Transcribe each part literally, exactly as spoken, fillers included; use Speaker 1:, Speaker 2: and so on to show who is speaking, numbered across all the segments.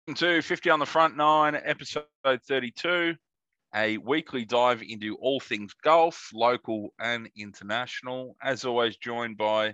Speaker 1: To fifty on the Front Nine, episode thirty-two, a weekly dive into all things golf, local and international. As always, joined by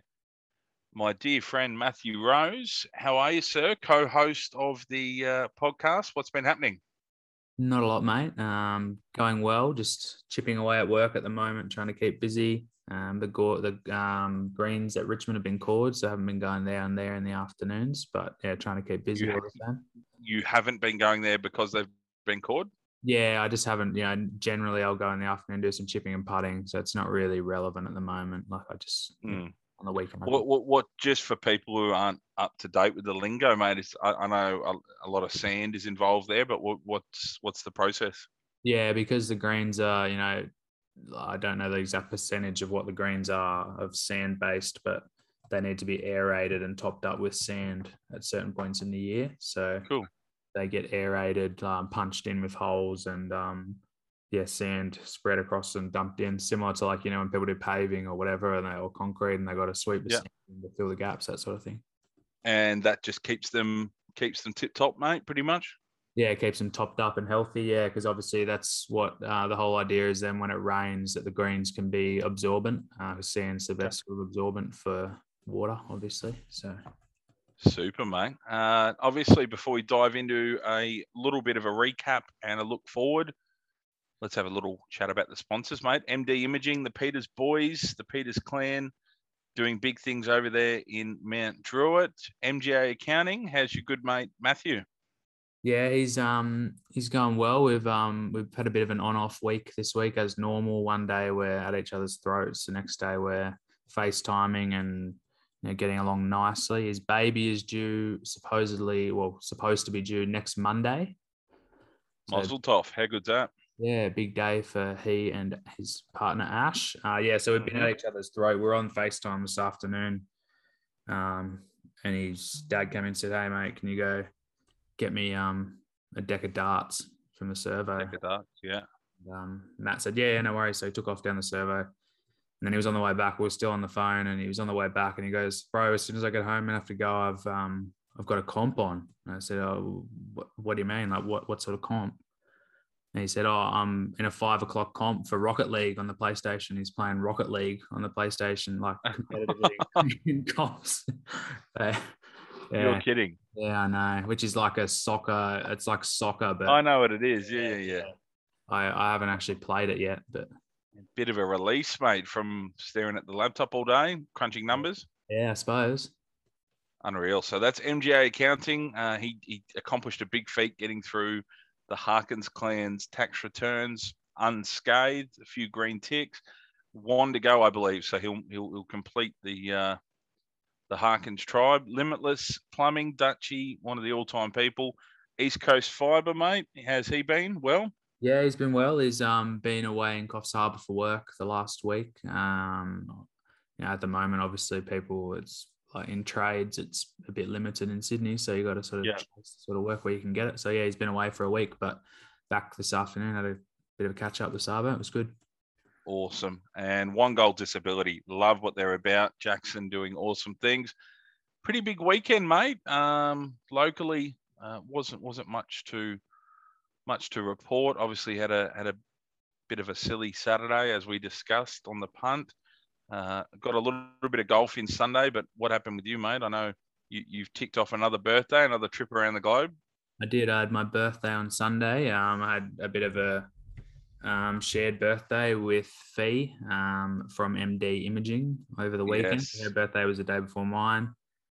Speaker 1: my dear friend Matthew Rose. How are you, sir? Co-host of the uh, podcast. What's been happening?
Speaker 2: Not a lot, mate. Um, going well. Just chipping away at work at the moment, trying to keep busy. Um, the go- the um, greens at Richmond have been called, so I haven't been going down there in the afternoons. But yeah, trying to keep busy
Speaker 1: You,
Speaker 2: all the time.
Speaker 1: You haven't been going there because they've been called?
Speaker 2: Yeah, I just haven't. You know, generally I'll go in the afternoon do some chipping and putting, so it's not really relevant at the moment. Like I just
Speaker 1: Mm.
Speaker 2: you know, on the weekend.
Speaker 1: What, what, what? Just for people who aren't up to date with the lingo, mate. It's, I, I know a, a lot of sand is involved there, but what, what's what's the process?
Speaker 2: Yeah, because the greens are, you know, I don't know the exact percentage of what the greens are of sand based, but they need to be aerated and topped up with sand at certain points in the year. So
Speaker 1: Cool.
Speaker 2: They get aerated, um, punched in with holes, and um, yeah, sand spread across and dumped in, similar to like you know when people do paving or whatever, and they or concrete, and they got to sweep the
Speaker 1: Yeah.
Speaker 2: sand to fill the gaps, that sort of thing.
Speaker 1: And that just keeps them keeps them tip top, mate. Pretty much.
Speaker 2: Yeah, it keeps them topped up and healthy. Yeah, because obviously that's what uh, the whole idea is. Then when it rains, that the greens can be absorbent. Uh, sand's the best sort of absorbent for water, obviously. So.
Speaker 1: Super, mate. Uh, obviously, before we dive into a little bit of a recap and a look forward, let's have a little chat about the sponsors, mate. M D Imaging, the Peters Boys, the Peters Clan, doing big things over there in Mount Druitt. M G A Accounting, how's your good mate Matthew?
Speaker 2: Yeah, he's um he's going well. We've um we've had a bit of an on-off week this week as normal. One day we're at each other's throats. The next day we're FaceTiming and you know, getting along nicely. His baby is due supposedly, well, supposed to be due next Monday.
Speaker 1: So, Mazel tov. How good's that?
Speaker 2: Yeah, big day for he and his partner Ash. Uh, yeah, so we've been mm-hmm. at each other's throat. We're on FaceTime this afternoon. Um, and his dad came in and said, "Hey mate, can you go get me um a deck of darts from the servo?"
Speaker 1: Deck of darts, yeah.
Speaker 2: And, um, Matt said, "Yeah, no worries." So he took off down the servo, and then he was on the way back. We were still on the phone, and he was on the way back, and he goes, "Bro, as soon as I get home and have to go, I've um I've got a comp on." And I said, "Oh, what, what do you mean? Like what what sort of comp?" And he said, "Oh, I'm in a five o'clock comp for Rocket League on the PlayStation." He's playing Rocket League on the PlayStation, like competitively in comps. So,
Speaker 1: yeah. You're kidding.
Speaker 2: Yeah, I know. Which is like a soccer. It's like soccer, but
Speaker 1: I know what it is. Yeah, yeah, yeah.
Speaker 2: I, I haven't actually played it yet, but
Speaker 1: bit of a release, mate, from staring at the laptop all day, crunching numbers.
Speaker 2: Yeah, I suppose.
Speaker 1: Unreal. So that's M G A Accounting. Uh, he he accomplished a big feat getting through the Harkins clan's tax returns unscathed. A few green ticks. One to go, I believe. So he'll he'll, he'll complete the. Uh, The Harkins tribe, Limitless Plumbing, Dutchy, one of the all-time people. East Coast Fibre, mate. How's he been? Well?
Speaker 2: Yeah, he's been well. He's um been away in Coffs Harbour for work the last week. Um, you know, at the moment, obviously, people, it's like in trades, it's a bit limited in Sydney, so you got to sort of
Speaker 1: yeah.
Speaker 2: sort of work where you can get it. So yeah, he's been away for a week, but back this afternoon, had a bit of a catch up with Sabo. It was good.
Speaker 1: Awesome. And One Goal Disability. Love what they're about. Jackson doing awesome things. Pretty big weekend, mate. Um, locally, uh, wasn't wasn't much to much to report. Obviously, had a had a bit of a silly Saturday, as we discussed on the punt. Uh, got a little, little bit of golf in Sunday, but what happened with you, mate? I know you, you've ticked off another birthday, another trip around the globe.
Speaker 2: I did. I had my birthday on Sunday. Um, I had a bit of a Um, shared birthday with Fee um, from M D Imaging over the weekend.
Speaker 1: Yes.
Speaker 2: Her birthday was the day before mine.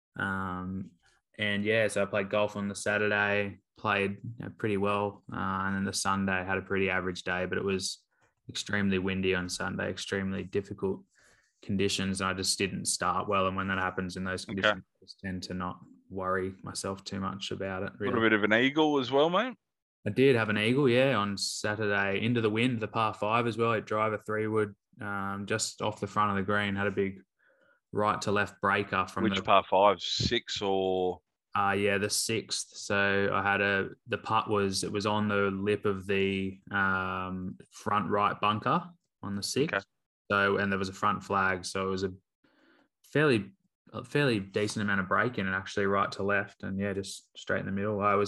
Speaker 2: Um, and yeah, so I played golf on the Saturday, played you know, pretty well. Uh, and then the Sunday had a pretty average day, but it was extremely windy on Sunday, extremely difficult conditions. And I just didn't start well. And when that happens in those conditions, okay. I just tend to not worry myself too much about it.
Speaker 1: Really. A little bit of an eagle as well, mate.
Speaker 2: I did have an eagle, yeah, on Saturday into the wind, the par five as well. I drive a three wood um, just off the front of the green, had a big right to left breaker from
Speaker 1: which
Speaker 2: the
Speaker 1: par five, six or
Speaker 2: uh yeah, the sixth. So I had a the putt was it was on the lip of the um, front right bunker on the sixth. Okay. So and there was a front flag, so it was a fairly a fairly decent amount of break in and actually right to left, and yeah, just straight in the middle. I was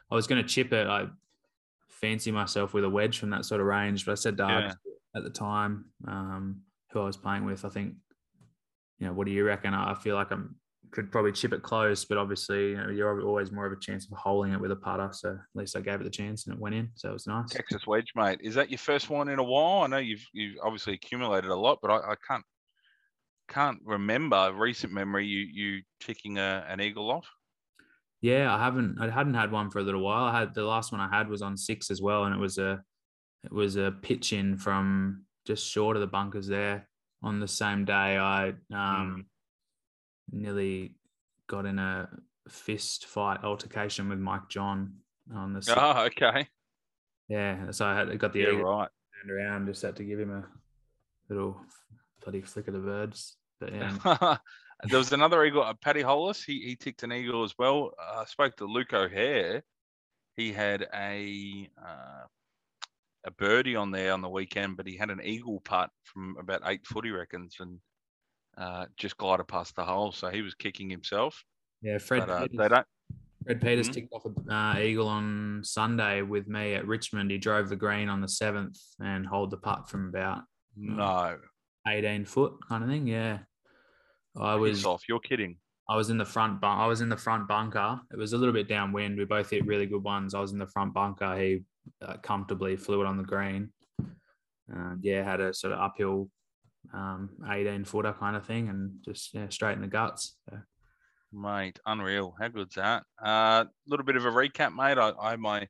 Speaker 2: I was going to chip it. I fancy myself with a wedge from that sort of range, but I said to
Speaker 1: Yeah.
Speaker 2: Args at the time, um, who I was playing with, I think, you know, what do you reckon? I feel like I could probably chip it close, but obviously, you know, you're always more of a chance of holding it with a putter. So at least I gave it the chance and it went in. So it was nice.
Speaker 1: Texas wedge, mate. Is that your first one in a while? I know you've you've obviously accumulated a lot, but I, I can't can't remember recent memory you you ticking a, an eagle off.
Speaker 2: Yeah, I haven't. I hadn't had one for a little while. I had the last one I had was on six as well, and it was a it was a pitch in from just short of the bunkers there. On the same day, I um, mm. nearly got in a fist fight altercation with Mike John on the.
Speaker 1: Oh, okay.
Speaker 2: Yeah, so I had got the
Speaker 1: yeah,
Speaker 2: eagle
Speaker 1: right.
Speaker 2: turned around. Just had to give him a little bloody flick of the birds. But yeah.
Speaker 1: There was another eagle, uh, Paddy Hollis. He he ticked an eagle as well. I uh, spoke to Luke O'Hare. He had a uh, a birdie on there on the weekend, but he had an eagle putt from about eight foot, he reckons, and uh, just glided past the hole. So he was kicking himself.
Speaker 2: Yeah, Fred.
Speaker 1: But, uh,
Speaker 2: Peters,
Speaker 1: they don't.
Speaker 2: Fred Peters mm-hmm. ticked off an uh, eagle on Sunday with me at Richmond. He drove the green on the seventh and holed the putt from about
Speaker 1: no
Speaker 2: eighteen foot kind of thing. Yeah. I was
Speaker 1: off. You're kidding.
Speaker 2: I was in the front bunk. I was in the front bunker. It was a little bit downwind. We both hit really good ones. I was in the front bunker. He uh, comfortably flew it on the green. Uh, yeah, had a sort of uphill um, eighteen footer kind of thing, and just yeah, straight in the guts. So.
Speaker 1: Mate, unreal. How good's that? A uh, little bit of a recap, mate. I, I my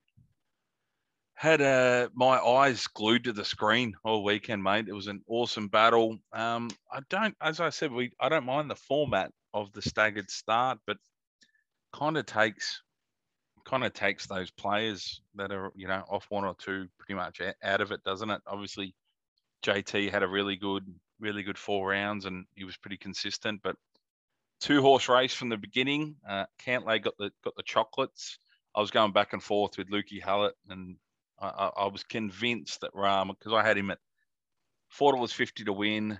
Speaker 1: had uh, my eyes glued to the screen all weekend, mate. It was an awesome battle. Um, I don't, as I said, we I don't mind the format of the staggered start, but kind of takes kind of takes those players that are, you know, off one or two pretty much out of it, doesn't it? Obviously, J T had a really good, really good four rounds, and he was pretty consistent. But two horse race from the beginning. Uh, Cantlay got the got the chocolates. I was going back and forth with Lukey Hallett, and I, I was convinced that Rahm, because I had him at four dollars fifty to win,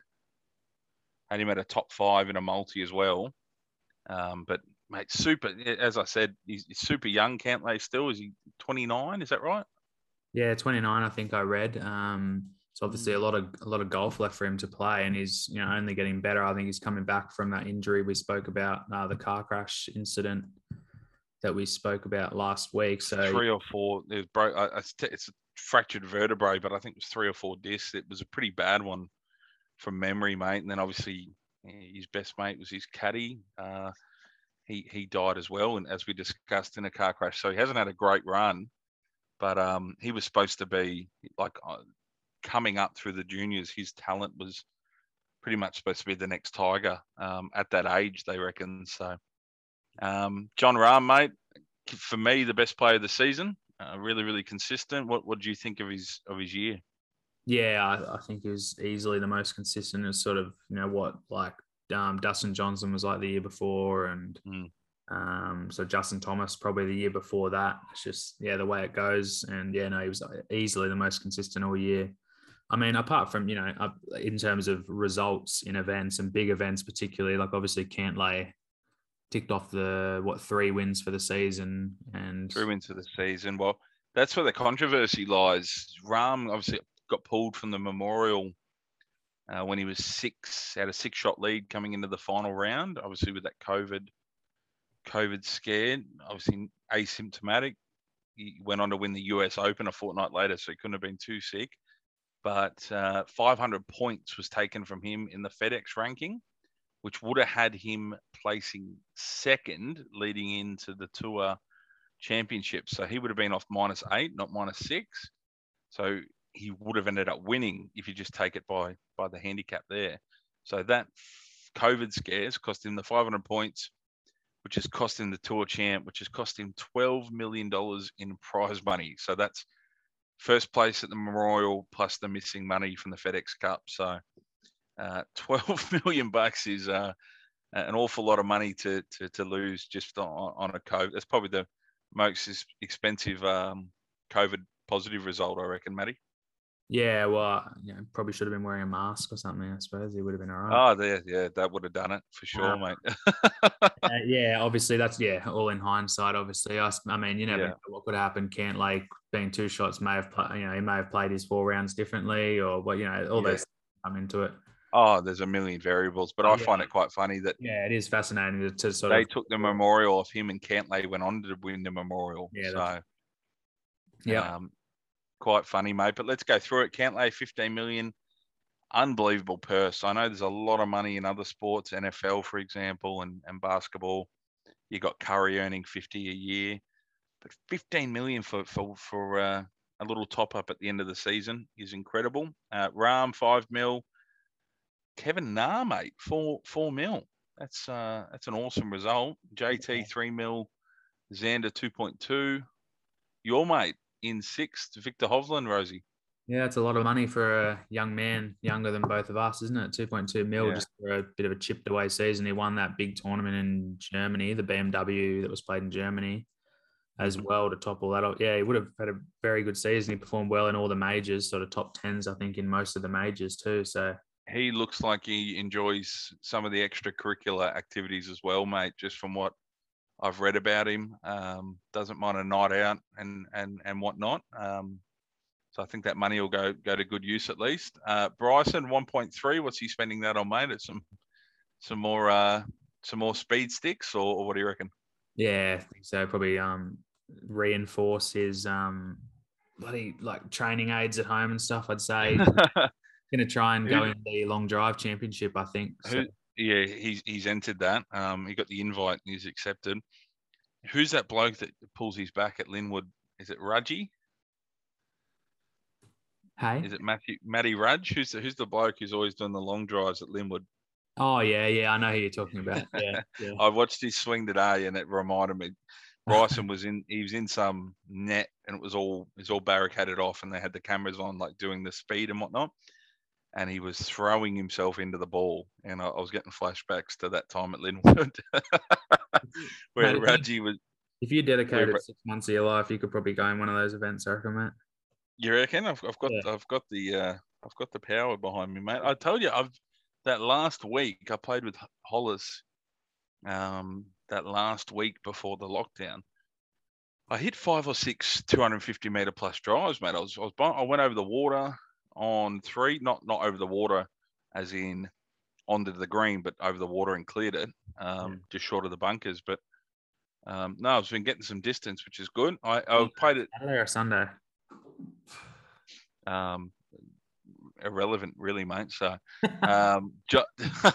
Speaker 1: had him at a top five in a multi as well. Um, but mate, super. As I said, he's, he's super young. Cantlay still, is he twenty-nine? Is that right?
Speaker 2: Yeah, twenty-nine. I think I read. Um, so obviously a lot of a lot of golf left for him to play, and he's, you know, only getting better. I think he's coming back from that injury we spoke about, uh, the car crash incident that we spoke about last week. So
Speaker 1: three or four, it broke. It's a fractured vertebrae, but I think it was three or four discs. It was a pretty bad one from memory, mate. And then obviously his best mate was his caddy. Uh, he he died as well, and as we discussed, in a car crash. So he hasn't had a great run, but um, he was supposed to be like uh, coming up through the juniors. His talent was pretty much supposed to be the next Tiger um, at that age, they reckon. So. Um, Jon Rahm, mate, for me, the best player of the season. Uh, really, really consistent. What What do you think of his of his year?
Speaker 2: Yeah, I, I think he was easily the most consistent. It's sort of, you know, what like um, Dustin Johnson was like the year before, and mm. um, so Justin Thomas probably the year before that. It's just yeah, the way it goes, and yeah, no, he was easily the most consistent all year. I mean, apart from, you know, in terms of results in events and big events, particularly, like obviously Cantlay ticked off the what three wins for the season, and
Speaker 1: three wins for the season. Well, that's where the controversy lies. Rahm obviously got pulled from the Memorial uh, when he was six, had a six-shot lead coming into the final round. Obviously with that COVID, COVID scare, obviously asymptomatic. He went on to win the U S Open a fortnight later, so he couldn't have been too sick. But uh, five hundred points was taken from him in the FedEx ranking, which would have had him placing second leading into the Tour Championship. So he would have been off minus eight, not minus six. So he would have ended up winning if you just take it by by the handicap there. So that COVID scares cost him the five hundred points, which has cost him the Tour Champ, which has cost him twelve million dollars in prize money. So that's first place at the Memorial plus the missing money from the FedEx Cup. So Uh, twelve million bucks is uh, an awful lot of money to to, to lose just on, on a COVID. That's probably the most expensive um, COVID positive result, I reckon, Matty.
Speaker 2: Yeah, well, you know, probably should have been wearing a mask or something. I suppose he would have been all right.
Speaker 1: Oh, there, yeah, that would have done it for sure,
Speaker 2: Uh,
Speaker 1: mate.
Speaker 2: uh, yeah, obviously that's yeah, all in hindsight. Obviously, I, I mean, you never
Speaker 1: Yeah.
Speaker 2: know what could happen. Cantlay being two shots may have, played, you know, he may have played his four rounds differently, or what, you know, all
Speaker 1: Yeah.
Speaker 2: those things come into it.
Speaker 1: Oh, there's a million variables, but
Speaker 2: Oh,
Speaker 1: I
Speaker 2: yeah,
Speaker 1: find it quite funny that
Speaker 2: yeah, it is fascinating to, to sort
Speaker 1: they
Speaker 2: of.
Speaker 1: took the memorial off him, and Cantlay went on to win the memorial.
Speaker 2: Yeah,
Speaker 1: So,
Speaker 2: yeah,
Speaker 1: um, quite funny, mate. But let's go through it. Cantlay, fifteen million, unbelievable purse. I know there's a lot of money in other sports, N F L, for example, and, and basketball. You got Curry earning fifty a year, but fifteen million for for for uh, a little top up at the end of the season is incredible. Uh, Ram five mil, Kevin Na, mate, four four mil. That's uh that's an awesome result. J T three mil, Xander two point two. Your mate in sixth, Victor Hovland, Rosie.
Speaker 2: yeah. It's a lot of money for a young man, younger than both of us, isn't it? Two point two mil
Speaker 1: Yeah.
Speaker 2: just for a bit of a chipped away season. He won that big tournament in Germany, the B M W that was played in Germany, as
Speaker 1: Mhm.
Speaker 2: well to top all that up. Yeah, he would have had a very good season. He performed well in all the majors, sort of top tens, I think, in most of the majors too. So
Speaker 1: He looks like he enjoys some of the extracurricular activities as well, mate. Just from what I've read about him, um, doesn't mind a night out and and and whatnot. Um, so I think that money will go go to good use at least. Uh, Bryson one point three. What's he spending that on, mate? It's some some more uh, some more speed sticks, or, or what do you reckon?
Speaker 2: yeah, I think so. Probably um, reinforce his um, bloody like training aids at home and stuff. I'd say going to try and go
Speaker 1: who
Speaker 2: in the long drive championship. I think so.
Speaker 1: who? Yeah, he's he's entered that. Um, he got the invite and he's accepted. Who's that bloke that pulls his back at Linwood? Is it Rudgy?
Speaker 2: Hey.
Speaker 1: Is it Matthew Matty Rudge? Who's the, who's the bloke who's always doing the long drives at Linwood?
Speaker 2: Oh yeah, yeah. I know who you're talking about. Yeah, yeah.
Speaker 1: I watched his swing today, and it reminded me. Bryson was in. He was in some net, and it was all it was all barricaded off, and they had the cameras on, like doing the speed and whatnot. And he was throwing himself into the ball, and I, I was getting flashbacks to that time at Linwood, where
Speaker 2: Mate, if, you,
Speaker 1: Raji was.
Speaker 2: if you
Speaker 1: Where
Speaker 2: dedicated six months of your life, you could probably go in one of those events, I reckon, mate.
Speaker 1: you reckon? I've, I've got
Speaker 2: Yeah.
Speaker 1: I've got the uh, I've got the power behind me, mate. I told you I've that last week I played with Hollis. Um, that last week before the lockdown, I hit five or six two hundred fifty meter plus drives, mate. I was, I was, I went over the water on three, not not over the water, as in onto the green, but over the water and cleared it, um,
Speaker 2: Yeah.
Speaker 1: just short of the bunkers. But um, no, I've been getting some distance, which is good. I, I
Speaker 2: Oh,
Speaker 1: played it.
Speaker 2: Saturday or Sunday?
Speaker 1: Um, irrelevant, really, mate. So um, jo-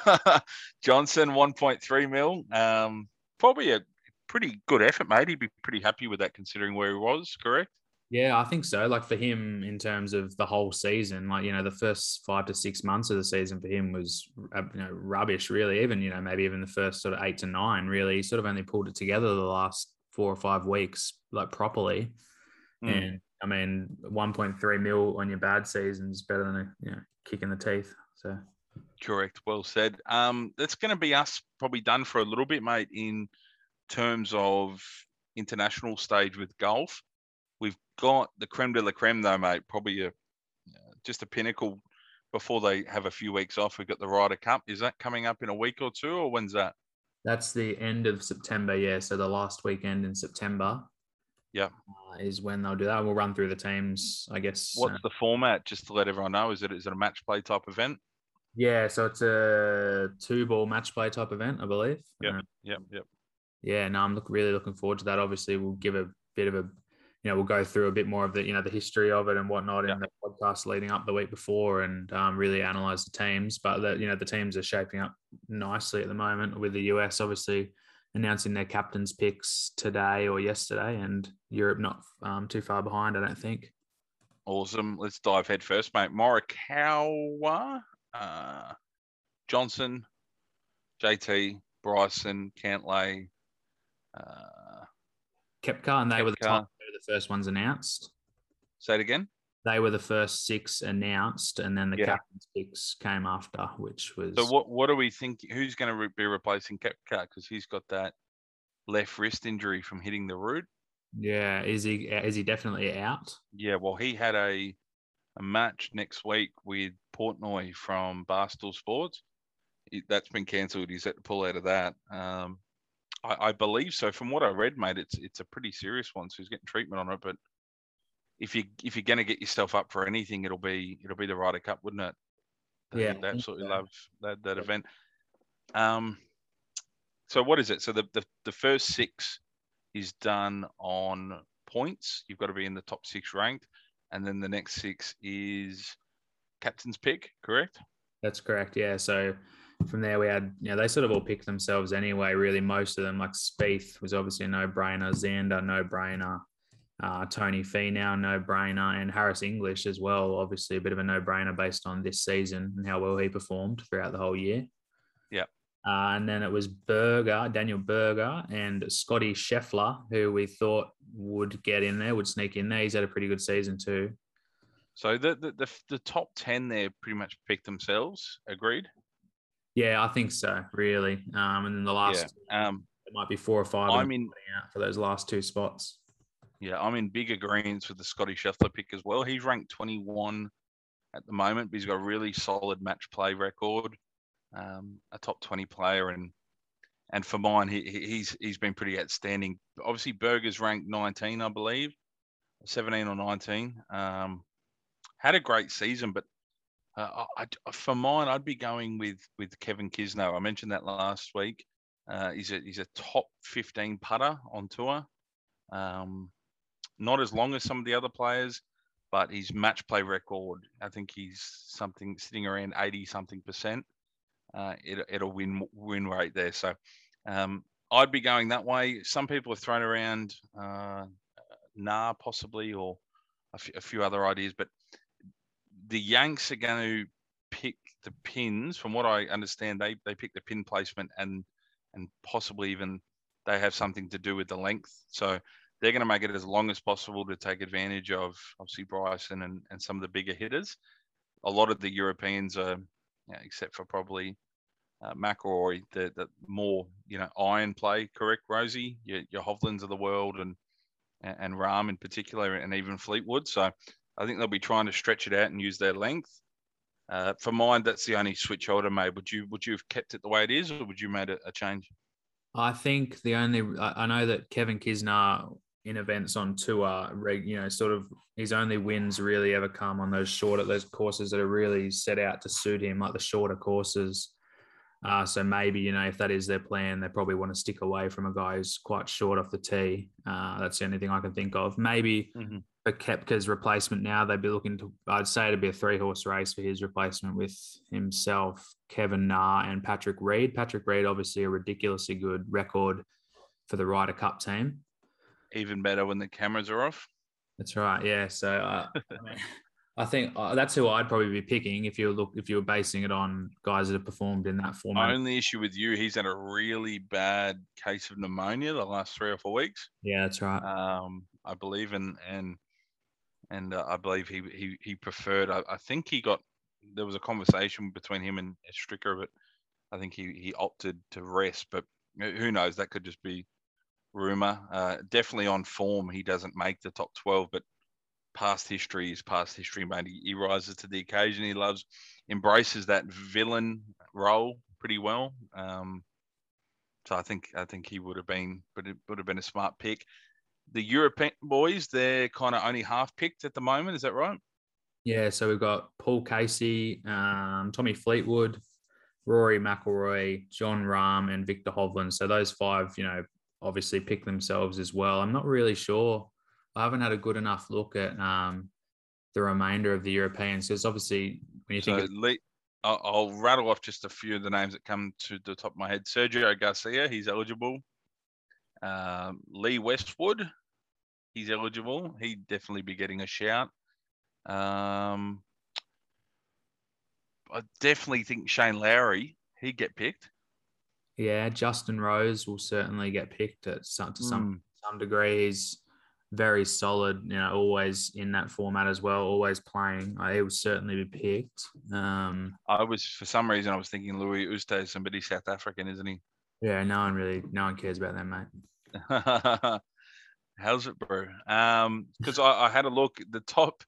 Speaker 1: Johnson one point three mil, um, probably a pretty good effort, mate. He'd be pretty happy with that considering where he was. Correct?
Speaker 2: Yeah, I think so. Like for him, in terms of the whole season, like you know, the first five to six months of the season for him was uh, you know rubbish. Really, even you know maybe even the first sort of eight to nine. Really, he sort of only pulled it together the last four or five weeks, like properly.
Speaker 1: Mm.
Speaker 2: And I mean, one point three mil on your bad season is better than a you know kick in the teeth. So
Speaker 1: Correct. Well said. Um, that's going to be us probably done for a little bit, mate, in terms of international stage with golf. We've got the creme de la creme, though, mate. Probably a, just a pinnacle before they have a few weeks off. We've got the Ryder Cup. Is that coming up in a week or two, or when's that?
Speaker 2: that's the end of September. Yeah, so the last weekend in September.
Speaker 1: Yeah.
Speaker 2: Uh, is when they'll do that. We'll run through the teams, I guess.
Speaker 1: What's
Speaker 2: uh,
Speaker 1: the format? Just to let everyone know, is it is it a match play type event?
Speaker 2: Yeah, so it's a two ball match play type event, I believe.
Speaker 1: Yep.
Speaker 2: Uh,
Speaker 1: Yep. Yep.
Speaker 2: yeah, no, I'm look, really looking forward to that. Obviously, we'll give a bit of a, you know, we'll go through a bit more of the, you know, the history of it and whatnot
Speaker 1: Yeah.
Speaker 2: in the podcast leading up the week before, and um, really analyze the teams. But the, you know, the teams are shaping up nicely at the moment. With the U S obviously announcing their captains' picks today or yesterday, and Europe not um, too far behind, I don't think.
Speaker 1: Awesome. Let's dive head first, mate. Morikawa, uh, Johnson, J T, Bryson, Cantlay, uh,
Speaker 2: Kepka, and they were the top.
Speaker 1: Kepka.
Speaker 2: They were the first ones announced.
Speaker 1: Say it again.
Speaker 2: They were the first six announced, and then the
Speaker 1: Yeah.
Speaker 2: captain's picks came after, which was.
Speaker 1: So what what do we think? Who's going to re- be replacing Kepka? Because he's got that left wrist injury from hitting the root.
Speaker 2: Yeah, is he is he definitely out?
Speaker 1: Yeah. Well, he had a a match next week with Portnoy from Barstool Sports. It, that's been cancelled. He's had to pull out of that. Um, I, I believe so. From what I read, mate, it's it's a pretty serious one. So he's getting treatment on it. But if you if you're going to get yourself up for anything, it'll be it'll be the Ryder Cup, wouldn't it? They,
Speaker 2: Yeah,
Speaker 1: they absolutely
Speaker 2: so.
Speaker 1: love that that event. Um, so what is it? So the, the the first six is done on points. You've got to be in the top six ranked, and then the next six is captain's pick. Correct?
Speaker 2: That's correct. Yeah. So from there, we had, you know, they sort of all picked themselves anyway, really. Most of them, like Spieth was obviously a no brainer, Xander, no brainer, uh, Tony Finau, no brainer, and Harris English as well. Obviously, a bit of a no brainer based on this season and how well he performed throughout the whole year.
Speaker 1: Yeah.
Speaker 2: Uh, and then it was Berger, Daniel Berger, and Scotty Scheffler, who we thought would get in there, would sneak in there. He's had a pretty good season too.
Speaker 1: So the the the, the top ten there pretty much picked themselves. Agreed.
Speaker 2: Yeah, I think so. Really. Um, and then the last,
Speaker 1: yeah. um,
Speaker 2: it might be four or five.
Speaker 1: I'm in
Speaker 2: out for those last two spots.
Speaker 1: Yeah, I'm in big agreement with the Scotty Scheffler pick as well. He's ranked twenty-one at the moment, but he's got a really solid match play record, um, a top twenty player, and and for mine, he, he's he's been pretty outstanding. Obviously, Berger's ranked nineteen, I believe, seventeen or nineteen. Um, had a great season, but uh, I, I, for mine, I'd be going with with Kevin Kisner. I mentioned that last week. Uh, he's a he's a top fifteen putter on tour. Um, not as long as some of the other players, but his match play record, I think he's something sitting around eighty something percent. Uh, it, it'll win win rate there. So um, I'd be going that way. Some people have thrown around uh, Nah possibly, or a, f- a few other ideas, but the Yanks are going to pick the pins. From what I understand, they they pick the pin placement and and possibly even they have something to do with the length. So they're going to make it as long as possible to take advantage of obviously Bryson and, and some of the bigger hitters. A lot of the Europeans are, you know, except for probably uh, McIlroy, the, the more, you know, iron play, correct, Rosie? Your, your Hovlands of the world and, and Rahm in particular, and even Fleetwood. So I think they'll be trying to stretch it out and use their length. Uh, for mine, that's the only switch I would have made. Would you would you have kept it the way it is, or would you made a, a change?
Speaker 2: I think the only I know that Kevin Kisner in events on tour, you know, sort of his only wins really ever come on those shorter those courses that are really set out to suit him, like the shorter courses. Uh, so maybe, you know, if that is their plan, they probably want to stick away from a guy who's quite short off the tee. Uh, that's the only thing I can think of. Maybe mm-hmm. for Koepka's replacement now, they'd be looking to, I'd say it'd be a three-horse race for his replacement with himself, Kevin Na, and Patrick Reed. Patrick Reed, obviously a ridiculously good record for the Ryder Cup team.
Speaker 1: Even better when the cameras are off.
Speaker 2: That's right, yeah. So uh, I mean, I think uh, that's who I'd probably be picking if you look if you were basing it on guys that have performed in that format.
Speaker 1: My only issue with you, he's had a really bad case of pneumonia the last three or four weeks.
Speaker 2: Yeah, that's right.
Speaker 1: Um, I believe in and and uh, I believe he he he preferred. I, I think he got there was a conversation between him and Stricker, but I think he he opted to rest. But who knows? That could just be rumor. Uh, definitely on form, he doesn't make the top twelve, but past history is past history, mate. He, he rises to the occasion. He loves, embraces that villain role pretty well. Um, so I think I think he would have been, but it would have been a smart pick. The European boys, they're kind of only half picked at the moment. Is that right?
Speaker 2: Yeah. So we've got Paul Casey, um, Tommy Fleetwood, Rory McIlroy, John Rahm, and Victor Hovland. So those five, you know, obviously pick themselves as well. I'm not really sure. I haven't had a good enough look at um, the remainder of the Europeans. Because obviously, when you think,
Speaker 1: so, of- Lee, I'll, I'll rattle off just a few of the names that come to the top of my head. Sergio Garcia, he's eligible. Um, Lee Westwood, he's eligible. He'd definitely be getting a shout. Um, I definitely think Shane Lowry, he'd get picked.
Speaker 2: Yeah, Justin Rose will certainly get picked at some, to some mm. some degree. He's very solid, you know, always in that format as well, always playing. He will certainly be picked. Um,
Speaker 1: I was, for some reason, I was thinking Louis Oosthuizen, but he's South African, isn't he?
Speaker 2: Yeah, no one really, no one cares about that, mate.
Speaker 1: How's it, bro? Um, because I, I had a look at the top,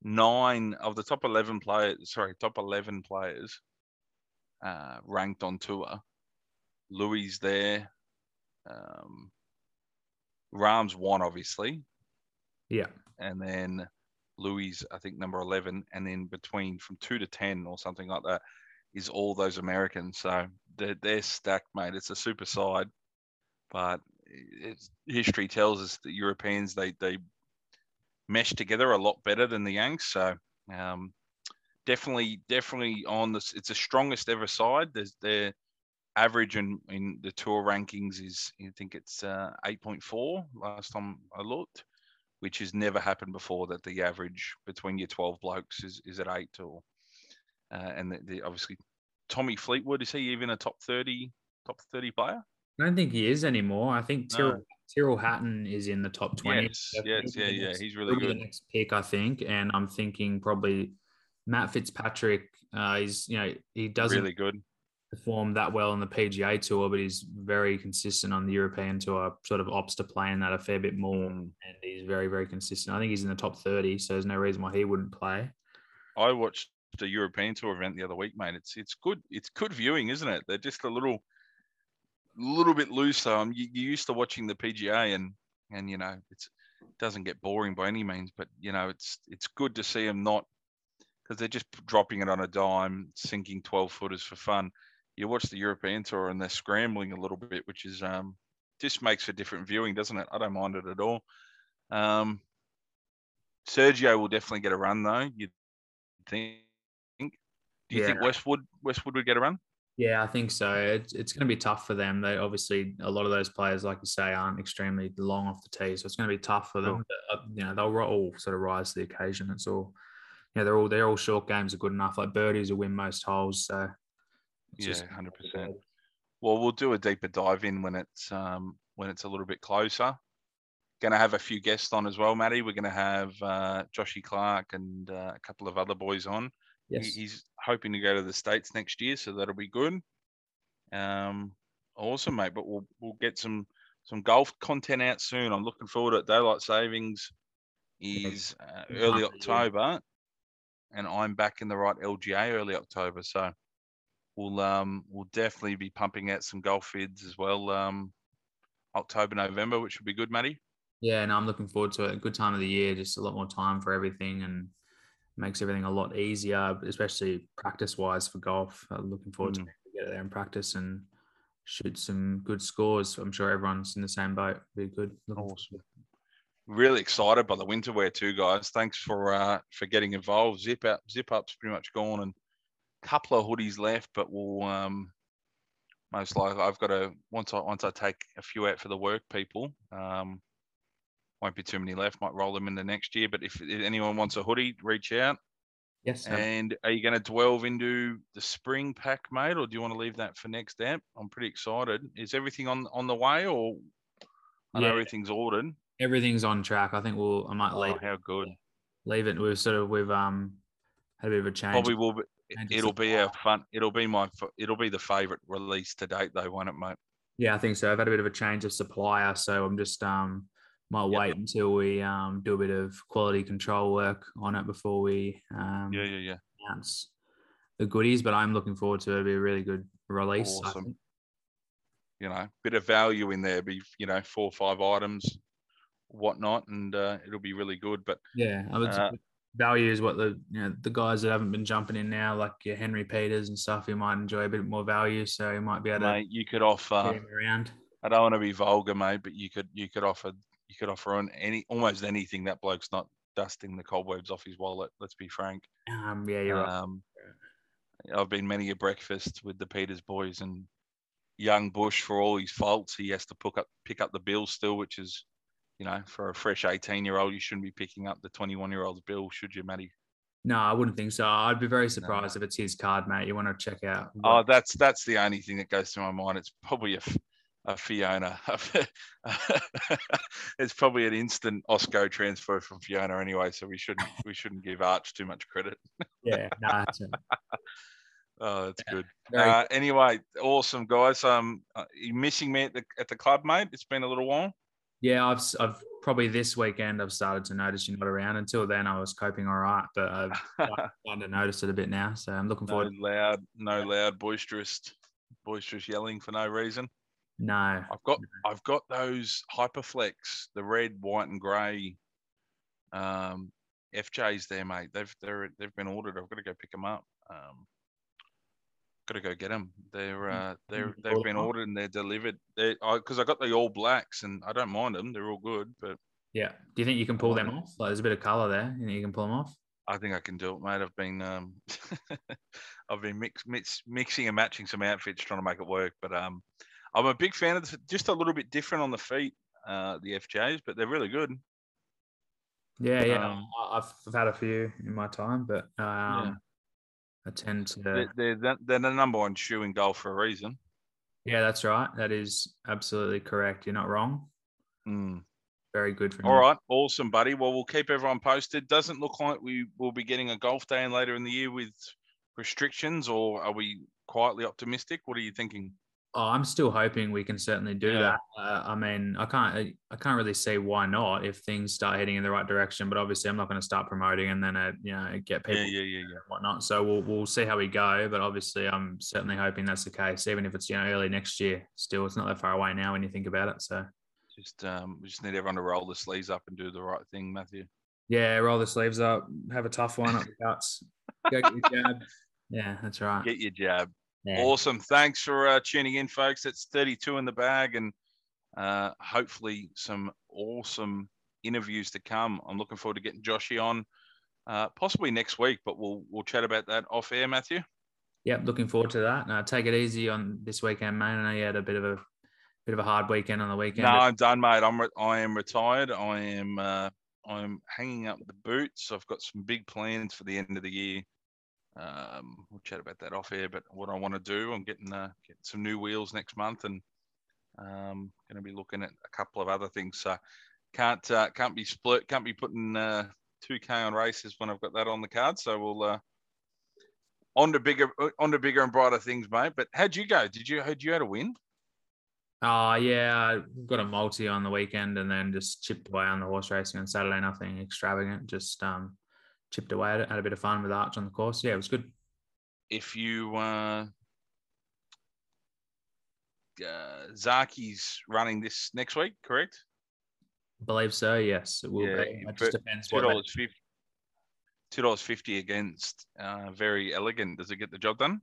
Speaker 1: nine of the top eleven players, sorry, top eleven players uh, ranked on tour. Louis there. Um, Rahm's one, obviously.
Speaker 2: Yeah.
Speaker 1: And then Louis, I think, number eleven. And then between from two to ten or something like that is all those Americans. So they're, they're stacked, mate. It's a super side. But it's, history tells us that Europeans, they, they mesh together a lot better than the Yanks. So um, definitely, definitely on this. It's the strongest ever side. There's their average in, in the tour rankings is, I think it's uh, eight point four last time I looked, which has never happened before, that the average between your twelve blokes is, is at eight or, uh, and the, the, obviously Tommy Fleetwood, is he even a top thirty, top thirty player?
Speaker 2: I don't think he is anymore. I think Tyrrell,
Speaker 1: No.
Speaker 2: Tyrrell Hatton is in the top twenty.
Speaker 1: Yes, yes, yeah, yeah.
Speaker 2: Next,
Speaker 1: He's really
Speaker 2: he'll
Speaker 1: good.
Speaker 2: be the next pick, I think. And I'm thinking probably Matt Fitzpatrick. Uh, he's, you know, he doesn't
Speaker 1: really good.
Speaker 2: perform that well on the P G A tour, but he's very consistent on the European tour. Sort of opts to play in that a fair bit more,
Speaker 1: Mm.
Speaker 2: and he's very, very consistent. I think he's in the top thirty, so there's no reason why he wouldn't play.
Speaker 1: I watched the European tour event the other week, mate. It's it's good. It's good viewing, isn't it? They're just a little, little bit looser. Um, you, you're used to watching the P G A, and and you know it's it doesn't get boring by any means, but you know it's it's good to see them not, because they're just dropping it on a dime, sinking twelve footers for fun. You watch the European tour and they're scrambling a little bit, which is um just makes for different viewing, doesn't it? I don't mind it at all. Um, Sergio will definitely get a run though. You think? Do you
Speaker 2: Yeah.
Speaker 1: think Westwood Westwood would get a run?
Speaker 2: Yeah, I think so. It's, it's going to be tough for them. They obviously, a lot of those players, like you say, aren't extremely long off the tee, so it's going to be tough for them. But, uh, you know, they'll all sort of rise to the occasion. It's all, you know, they're all they're all short games are good enough. Like birdies will win most holes, so
Speaker 1: yeah, one hundred percent. Well, we'll do a deeper dive in when it's um when it's a little bit closer. Going to have a few guests on as well, Matty. We're going to have uh, Joshy Clark and uh, a couple of other boys on.
Speaker 2: Yes.
Speaker 1: He, he's hoping to go to the States next year, so that'll be good. Um, awesome, mate. But we'll we'll get some some golf content out soon. I'm looking forward to it. Daylight savings is uh, early October, and I'm back in the right L G A early October. So we'll um we'll definitely be pumping out some golf vids as well. Um, October, November, which would be good, Matty.
Speaker 2: Yeah, no, I'm looking forward to it. A good time of the year, just a lot more time for everything, and makes everything a lot easier, especially practice-wise for golf. I'm looking forward mm. to get there and practice and shoot some good scores. I'm sure everyone's in the same boat. Be good. Looking
Speaker 1: awesome. Really excited by the winter wear too, guys. Thanks for uh, for getting involved. Zip up, zip up's pretty much gone, and a couple of hoodies left, but we'll um, most likely I've got to once I once I take a few out for the work people. Um, won't be too many left. Might roll them in the next year. But if, if anyone wants a hoodie, reach out.
Speaker 2: Yes.
Speaker 1: And are you going to delve into the spring pack, mate, or do you want to leave that for next app? I'm pretty excited. Is everything on on the way, or I yeah. know everything's ordered?
Speaker 2: Everything's on track. I think we'll. I might
Speaker 1: oh,
Speaker 2: leave.
Speaker 1: How good.
Speaker 2: Leave it. We've sort of we've um had a bit of a change.
Speaker 1: Probably will. Be, it'll be our fun. It'll be my. It'll be the favourite release to date, though, won't it, mate?
Speaker 2: Yeah, I think so. I've had a bit of a change of supplier, so I'm just um. Might yep. wait until we um, do a bit of quality control work on it before we um,
Speaker 1: yeah, yeah, yeah.
Speaker 2: announce the goodies. But I'm looking forward to it. It'll be a really good release.
Speaker 1: Awesome. You know, bit of value in there. Be you know four or five items, whatnot, and uh, it'll be really good. But
Speaker 2: yeah, I would uh, value is what the you know the guys that haven't been jumping in now, like your Henry Peters and stuff, you might enjoy a bit more value. So you might be able to.
Speaker 1: Mate, you could offer.
Speaker 2: Around.
Speaker 1: I don't want to be vulgar, mate, but you could you could offer. You could offer on any almost anything. That bloke's not dusting the cobwebs off his wallet. Let's be frank.
Speaker 2: Um, yeah, you're
Speaker 1: um, right. I've been many a breakfast with the Peters boys, and young Bush, for all his faults, he has to pick up pick up the bill still, which is, you know, for a fresh eighteen-year-old, you shouldn't be picking up the twenty-one-year-old's bill, should you, Matty?
Speaker 2: No, I wouldn't think so. I'd be very surprised no. if it's his card, mate. You want to check out?
Speaker 1: What... Oh, that's that's the only thing that goes through my mind. It's probably a. A Fiona. It's probably an instant Osco transfer from Fiona anyway, so we shouldn't we shouldn't give Arch too much credit.
Speaker 2: Yeah, no, that's it.
Speaker 1: Oh, that's yeah, good. Uh, anyway, awesome guys. Um, are you missing me at the at the club, mate? It's been a little while.
Speaker 2: Yeah, I've I've probably this weekend I've started to notice you're not around. Until then, I was coping all right, but I've started to notice it a bit now. So I'm looking
Speaker 1: No
Speaker 2: forward.
Speaker 1: loud, no loud, boisterous, boisterous yelling for no reason.
Speaker 2: No,
Speaker 1: I've got I've got those Hyperflex, the red, white, and grey um, F Js there, mate. They've they're they've been ordered. I've got to go pick them up. Um, got to go get them. They're uh, they're they've been ordered and they're delivered. They because I, I got the all blacks and I don't mind them. They're all good, but
Speaker 2: yeah. Do you think you can pull them off? Like, there's a bit of color there. You think you can pull them off?
Speaker 1: I think I can do it, mate. I've been um, I've been mix, mix, mixing and matching some outfits trying to make it work. But um, I'm a big fan of the, just a little bit different on the feet, uh, the F Js, but they're really good.
Speaker 2: Yeah, yeah. Um, I've, I've had a few in my time, but um,
Speaker 1: yeah.
Speaker 2: I tend to.
Speaker 1: They're, they're they're the number one shoe in golf for a reason.
Speaker 2: Yeah, that's right. That is absolutely correct. You're not wrong.
Speaker 1: Mm.
Speaker 2: Very good for
Speaker 1: All right, awesome, buddy. Well, we'll keep everyone posted. Doesn't look like we will be getting a golf day in later in the year with restrictions, or are we quietly optimistic? What are you thinking?
Speaker 2: Oh, I'm still hoping we can certainly do yeah. that. Uh, I mean, I can't, I can't really see why not if things start heading in the right direction. But obviously, I'm not going to start promoting and then, uh, you know, get people,
Speaker 1: yeah, yeah, yeah, yeah.
Speaker 2: and whatnot. So we'll we'll see how we go. But obviously, I'm certainly hoping that's the case, even if it's you know early next year. Still, it's not that far away now when you think about it. So
Speaker 1: just um, we just need everyone to roll the sleeves up and do the right thing, Matthew.
Speaker 2: Yeah, roll the sleeves up, have a tough one up the guts, go get your jab. Yeah, that's right.
Speaker 1: Get your jab.
Speaker 2: Yeah.
Speaker 1: Awesome. Thanks for uh, tuning in, folks. It's thirty-two in the bag, and uh, hopefully some awesome interviews to come. I'm looking forward to getting Joshy on, uh, possibly next week, but we'll we'll chat about that off air, Matthew.
Speaker 2: Yep, looking forward to that. Uh, take it easy on this weekend, mate. I know you had a bit of a bit of a hard weekend on the weekend.
Speaker 1: No, I'm done, mate. I'm re- I am retired. I am uh, I'm hanging up the boots. I've got some big plans for the end of the year. Um, we'll chat about that off air. But what I want to do, I'm getting uh, getting some new wheels next month, and um, going to be looking at a couple of other things. So can't uh, can't be split. Can't be putting uh, two K on races when I've got that on the card. So we'll uh, on to bigger on to bigger and brighter things, mate. But how'd you go? Did you had you had a win?
Speaker 2: Oh, yeah, I got a multi on the weekend and then just chipped away on the horse racing on Saturday. Nothing extravagant, just um, chipped away at it. Had a bit of fun with Arch on the course. Yeah, it was good.
Speaker 1: If you, uh, uh, Zaki's running this next week, correct?
Speaker 2: I believe so, yes. It will yeah, be. It just depends
Speaker 1: two dollars fifty two dollars fifty against uh, Very Elegant. Does it get the job done?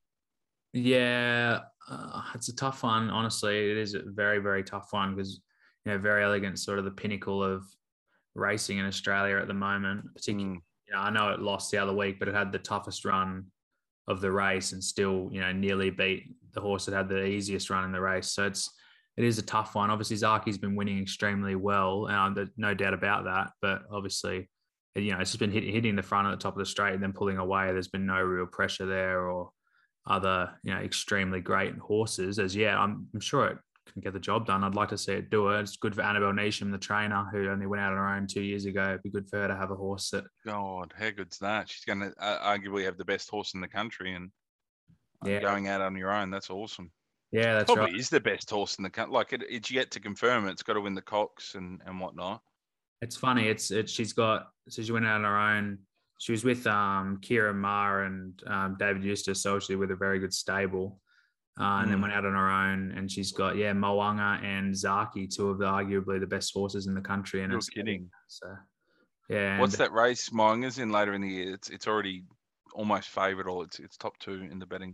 Speaker 2: Yeah, uh, it's a tough one. Honestly, it is a very, very tough one because, you know, Very Elegant sort of the pinnacle of racing in Australia at the moment. Particularly, mm. you know, I know it lost the other week, but it had the toughest run of the race and still, you know, nearly beat the horse that had the easiest run in the race. So it's it is a tough one. Obviously, Zaki's been winning extremely well, and there's no doubt about that. But obviously, you know, it's just been hit, hitting the front at the top of the straight and then pulling away. There's been no real pressure there or other, you know, extremely great horses as yet. I'm, I'm sure it can get the job done. I'd like to see it do it. It's good for Annabelle Neesham, the trainer, who only went out on her own two years ago. It'd be good for her to have a horse that.
Speaker 1: God, how good's that? She's going to uh, arguably have the best horse in the country, and
Speaker 2: yeah.
Speaker 1: going out on your own, that's awesome.
Speaker 2: Yeah, that's
Speaker 1: Probably
Speaker 2: right.
Speaker 1: is the best horse in the country. Like it, it's yet to confirm. It's got to win the Cox and and whatnot.
Speaker 2: It's funny. It's it. She's got. So she went out on her own. She was with um, Kira Ma and um, David Eustace, so she's with a very good stable, uh, and mm. then went out on her own. And she's got yeah Mo'unga and Zaki, two of the arguably the best horses in the country. And
Speaker 1: You're kidding.
Speaker 2: So yeah.
Speaker 1: What's
Speaker 2: and,
Speaker 1: that race Mo'unga's in later in the year? It's it's already almost favourite, or it's it's top two in the betting.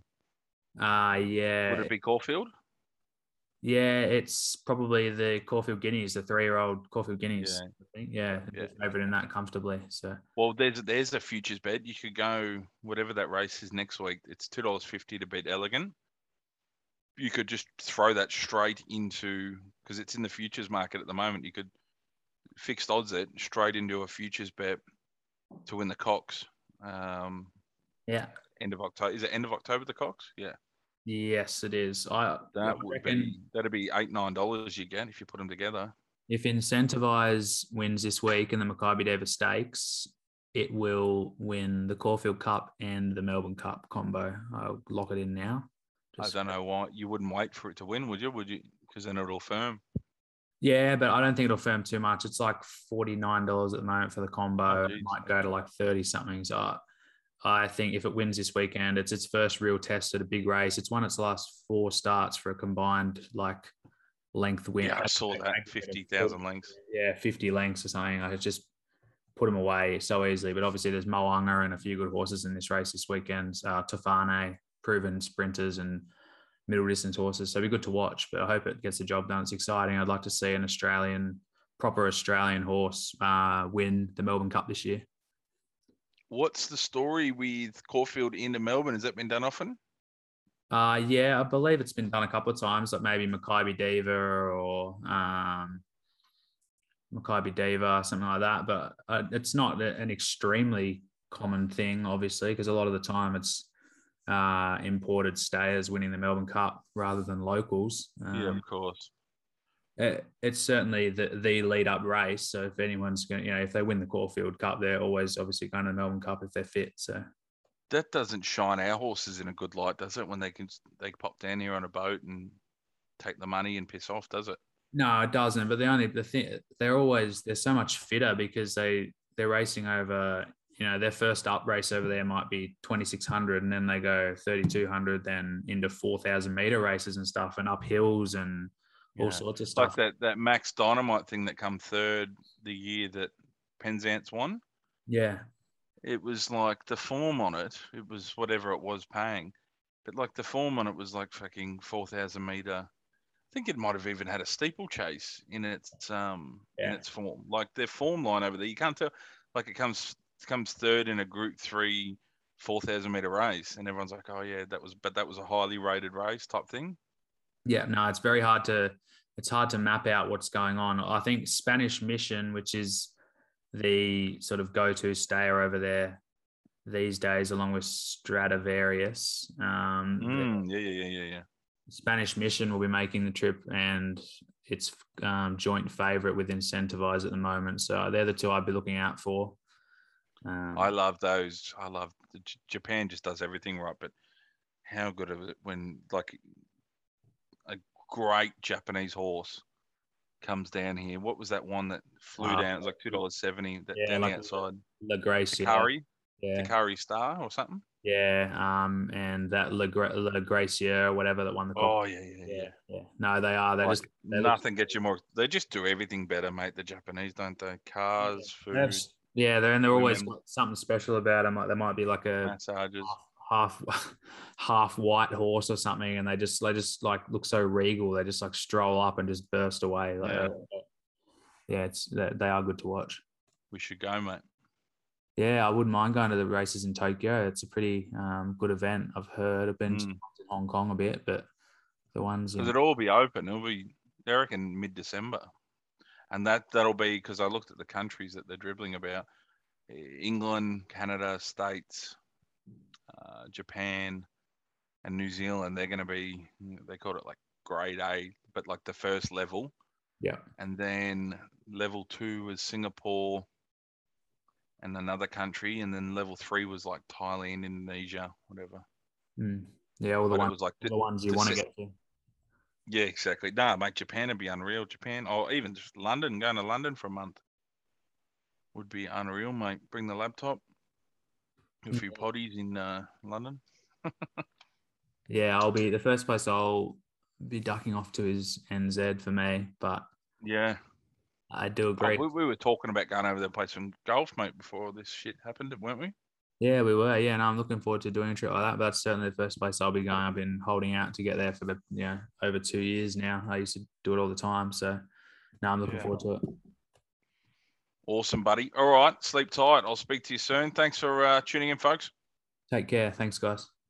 Speaker 2: Uh yeah.
Speaker 1: Would it be Caulfield?
Speaker 2: Yeah, it's probably the Caulfield Guineas, the three-year-old Caulfield Guineas. Yeah, I think. Yeah, yeah. Favourite in that comfortably. So,
Speaker 1: well, there's there's a futures bet. You could go whatever that race is next week. It's two dollars fifty to beat Elegant. You could just throw that straight into because it's in the futures market at the moment. You could fixed odds it straight into a futures bet to win the Cox. Um,
Speaker 2: yeah.
Speaker 1: End of October. Is it end of October the Cox? Yeah.
Speaker 2: Yes, it is. I
Speaker 1: that would reckon, be that'd be eight nine dollars you get if you put them together.
Speaker 2: If Incentivize wins this week in the Maccabi Davis Stakes, it will win the Caulfield Cup and the Melbourne Cup combo. I'll lock it in now.
Speaker 1: Just I don't know why you wouldn't wait for it to win, would you? Would you? Because then it'll firm.
Speaker 2: Yeah, but I don't think it'll firm too much. It's like forty-nine dollars at the moment for the combo.
Speaker 1: Oh,
Speaker 2: It
Speaker 1: geez.
Speaker 2: might go to like thirty something. So I, I think if it wins this weekend, it's its first real test at a big race. It's won its last four starts for a combined like length win.
Speaker 1: Yeah, I saw that fifty thousand lengths.
Speaker 2: Yeah, fifty lengths or something. Like it's just put him away so easily. But obviously, there's Moanga and a few good horses in this race this weekend. Uh, Tofane, proven sprinters and middle distance horses. So it'll be good to watch. But I hope it gets the job done. It's exciting. I'd like to see an Australian, proper Australian horse uh, win the Melbourne Cup this year.
Speaker 1: What's the story with Caulfield into Melbourne? Has that been done often?
Speaker 2: Uh, yeah, I believe it's been done a couple of times, like maybe Maccabi Diva or um, Maccabi Diva, something like that. But uh, it's not an extremely common thing, obviously, because a lot of the time it's uh, imported stayers winning the Melbourne Cup rather than locals. Um,
Speaker 1: Yeah, of course.
Speaker 2: It, it's certainly the, the lead up race. So if anyone's going to, you know, if they win the Caulfield Cup, they're always obviously going to the Melbourne Cup if they're fit. So
Speaker 1: That doesn't shine our horses in a good light, does it? When they can they pop down here on a boat and take the money and piss off, does it?
Speaker 2: no, it doesn't. But the only the thing they're always they're so much fitter because they they're racing over. You know, their first up race over there might be twenty-six hundred, and then they go thirty-two hundred, then into four thousand meter races and stuff, and up hills and all
Speaker 1: Yeah.
Speaker 2: sorts of
Speaker 1: Like
Speaker 2: stuff.
Speaker 1: that that Max Dynamite thing that come third the year that Penzance won.
Speaker 2: Yeah,
Speaker 1: It was like the form on it. It was whatever it was paying, but like the form on it was like fucking four thousand meter. I think it might have even had a steeplechase in its um in
Speaker 2: Yeah.
Speaker 1: its form. Like their form line over there, you can't tell. Like it comes it comes third in a Group Three four thousand meter race, and everyone's like, oh yeah, that was but that was a highly rated race type thing.
Speaker 2: Yeah, no, it's very hard to it's hard to map out what's going on. I think Spanish Mission, which is the sort of go-to stayer over there these days, along with Stradivarius. Um,
Speaker 1: Mm, yeah, yeah, yeah, yeah, yeah.
Speaker 2: Spanish Mission will be making the trip, and it's um, joint favourite with Incentivize at the moment. So they're the two I'd be looking out for. Um,
Speaker 1: I love those. I love J- Japan. Just does everything right, but how good is it when like a great Japanese horse comes down here? What was that one that flew
Speaker 2: uh,
Speaker 1: down? It was like two dollars seventy. That
Speaker 2: yeah,
Speaker 1: down
Speaker 2: like
Speaker 1: the outside,
Speaker 2: La Grace, yeah,
Speaker 1: Takari,
Speaker 2: yeah,
Speaker 1: Takari Star or something.
Speaker 2: yeah. Um, and that La, Gra- La Gracia or whatever that won the.
Speaker 1: Oh yeah, yeah, yeah.
Speaker 2: yeah, yeah. No, they are. They
Speaker 1: Like
Speaker 2: just they look-
Speaker 1: nothing gets you more. They just do everything better, mate. The Japanese, don't they? Cars,
Speaker 2: They have-
Speaker 1: food,
Speaker 2: yeah, they're and they're always
Speaker 1: women.
Speaker 2: got something special about them. Like there might be like a
Speaker 1: massages.
Speaker 2: half half white horse or something, and they just they just like look so regal. They just like stroll up and just burst away. Like,
Speaker 1: Yeah.
Speaker 2: uh, yeah, it's they they are good to watch.
Speaker 1: We should go, mate.
Speaker 2: Yeah, I wouldn't mind going to the races in Tokyo. It's a pretty um, good event. I've heard. I've been to
Speaker 1: Mm.
Speaker 2: Hong Kong a bit, but the ones
Speaker 1: Because
Speaker 2: in,
Speaker 1: it'll all be open. It'll be, I reckon, mid-December. And that, that'll be, because I looked at the countries that they're dribbling about. England, Canada, States, uh, Japan, and New Zealand. They're going to be, they called it like grade A, but like the first level.
Speaker 2: yeah,
Speaker 1: And then level two was Singapore and another country. And then level three was like Thailand, Indonesia, whatever.
Speaker 2: mm. yeah, all the
Speaker 1: But it
Speaker 2: ones,
Speaker 1: was like
Speaker 2: all
Speaker 1: the-
Speaker 2: the ones you
Speaker 1: the
Speaker 2: want to
Speaker 1: sys-
Speaker 2: get to.
Speaker 1: Yeah, exactly. Nah, mate, Japan would be unreal. Japan, or even just London, going to London for a month would be unreal, mate. Bring the laptop, a few potties in uh, London.
Speaker 2: Yeah, I'll be the first place I'll be ducking off to is N Z for me, but
Speaker 1: Yeah.
Speaker 2: I do
Speaker 1: Oh,
Speaker 2: agree.
Speaker 1: we, we were talking about going over there to play some golf, mate, before this shit happened, weren't we?
Speaker 2: Yeah, we were. Yeah, and I'm looking forward to doing a trip like that. But that's certainly the first place I'll be going. I've been holding out to get there for the you know over two years now. I used to do it all the time, so now I'm looking
Speaker 1: Yeah.
Speaker 2: forward to it.
Speaker 1: Awesome, buddy. All right, sleep tight. I'll speak to you soon. Thanks for uh, tuning in, folks.
Speaker 2: Take care. Thanks, guys.